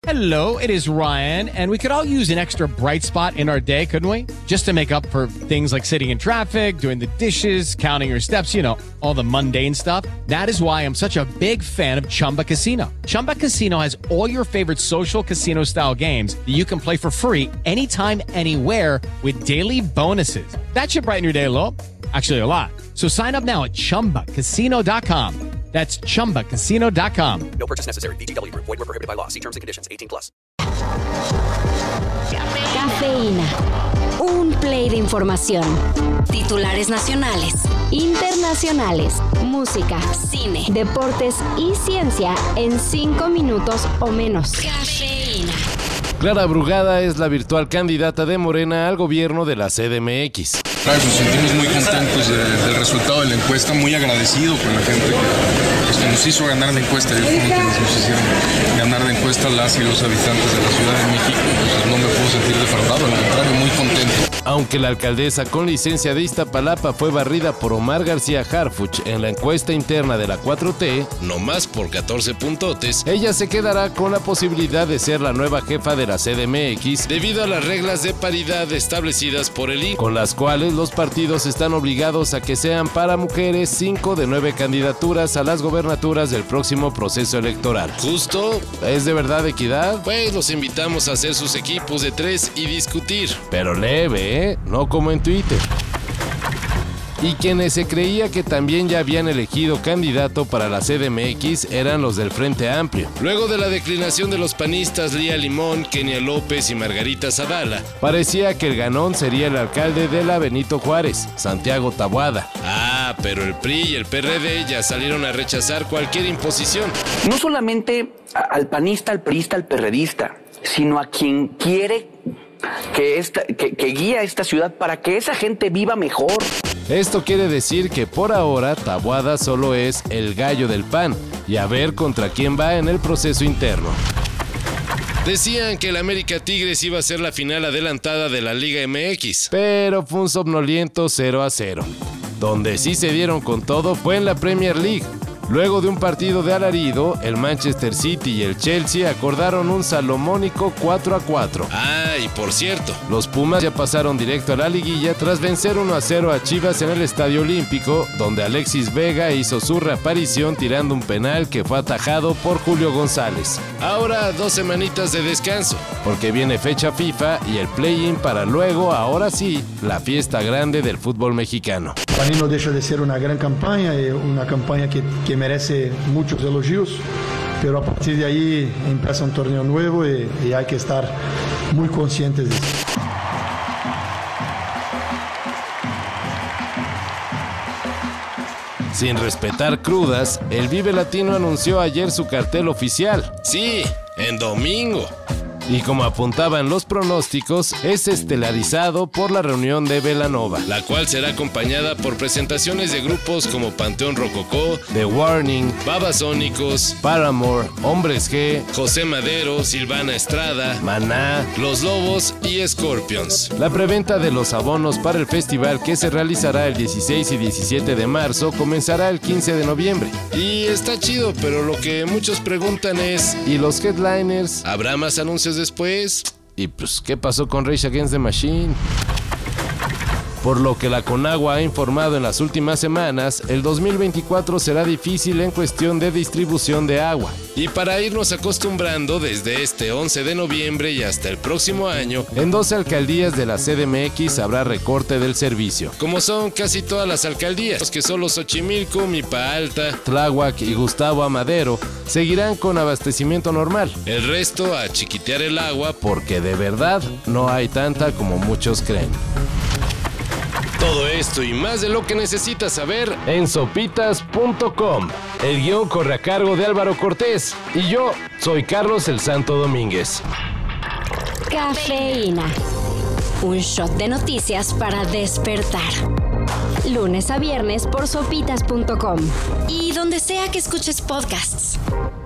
Hello, it is Ryan, and we could all use an extra bright spot in our day, couldn't we? Just to make up for things like sitting in traffic, doing the dishes, counting your steps, you know, all the mundane stuff. That is why I'm such a big fan of Chumba Casino. Chumba Casino has all your favorite social casino-style games that you can play for free anytime, anywhere with daily bonuses. That should brighten your day a little. Actually, a lot. So sign up now at ChumbaCasino.com. That's ChumbaCasino.com. No purchase necessary. VGW Group. Void where prohibited by law. See terms and conditions. 18+. Cafeína. Un play de información. Titulares nacionales, internacionales, música, cine, deportes y ciencia en 5 minutos o menos. Cafeína. Clara Brugada es la virtual candidata de Morena al gobierno de la CDMX. Nos sentimos muy contentos del resultado de la encuesta, muy agradecido con la gente que nos hizo ganar la encuesta. Yo como que nos hicieron ganar la encuesta las y los habitantes de la Ciudad de México. Entonces no me puedo sentir defraudado, al contrario, muy contento. Aunque la alcaldesa con licencia de Iztapalapa fue barrida por Omar García Harfuch en la encuesta interna de la 4T, no más por 14 puntotes, ella se quedará con la posibilidad de ser la nueva jefa de la CDMX debido a las reglas de paridad establecidas por el INE, con las cuales los partidos están obligados a que sean para mujeres 5 de 9 candidaturas a las gobernaturas del próximo proceso electoral. ¿Justo? ¿Es de verdad equidad? Pues los invitamos a hacer sus equipos de 3 y discutir. Pero leve, no como en Twitter. Y quienes se creía que también ya habían elegido candidato para la CDMX eran los del Frente Amplio. Luego de la declinación de los panistas Lía Limón, Kenia López y Margarita Zavala, parecía que el ganón sería el alcalde de la Benito Juárez, Santiago Taboada. Ah, pero el PRI y el PRD ya salieron a rechazar cualquier imposición. No solamente al panista, al priista, al perredista, sino a quien quiere que guía esta ciudad para que esa gente viva mejor. Esto quiere decir que por ahora Taboada solo es el gallo del PAN y a ver contra quién va en el proceso interno. Decían que el América Tigres iba a ser la final adelantada de la Liga MX, pero fue un somnoliento 0-0. Donde sí se dieron con todo fue en la Premier League. Luego de un partido de alarido, el Manchester City y el Chelsea acordaron un salomónico 4-4. Ah, y por cierto, los Pumas ya pasaron directo a la liguilla tras vencer 1-0 a Chivas en el Estadio Olímpico, donde Alexis Vega hizo su reaparición tirando un penal que fue atajado por Julio González. Ahora 2 semanitas de descanso, porque viene fecha FIFA y el play-in para luego, ahora sí, la fiesta grande del fútbol mexicano. Para mí no deja de ser una gran campaña, una campaña que merece muchos elogios, pero a partir de ahí empieza un torneo nuevo y hay que estar muy conscientes de eso. Sin respetar crudas, el Vive Latino anunció ayer su cartel oficial. Sí, en domingo. Y como apuntaban los pronósticos, es estelarizado por la reunión de Belanova, la cual será acompañada por presentaciones de grupos como Panteón Rococó, The Warning, Babasónicos, Paramore, Hombres G, José Madero, Silvana Estrada, Maná, Los Lobos y Scorpions. La preventa de los abonos para el festival, que se realizará el 16 y 17 de marzo, comenzará el 15 de noviembre. Y está chido, pero lo que muchos preguntan es, ¿y los headliners? ¿Habrá más anuncios después? Y pues, ¿qué pasó con Rage Against the Machine? Por lo que la Conagua ha informado en las últimas semanas, el 2024 será difícil en cuestión de distribución de agua. Y para irnos acostumbrando, desde este 11 de noviembre y hasta el próximo año, en 12 alcaldías de la CDMX habrá recorte del servicio. Como son casi todas las alcaldías, que solo Xochimilco, Milpa Alta, Tláhuac y Gustavo Amadero seguirán con abastecimiento normal. El resto a chiquitear el agua, porque de verdad no hay tanta como muchos creen. Todo esto y más de lo que necesitas saber en sopitas.com. El guión corre a cargo de Álvaro Cortés y yo soy Carlos el Santo Domínguez. Cafeína. Un shot de noticias para despertar. Lunes a viernes por sopitas.com y donde sea que escuches podcasts.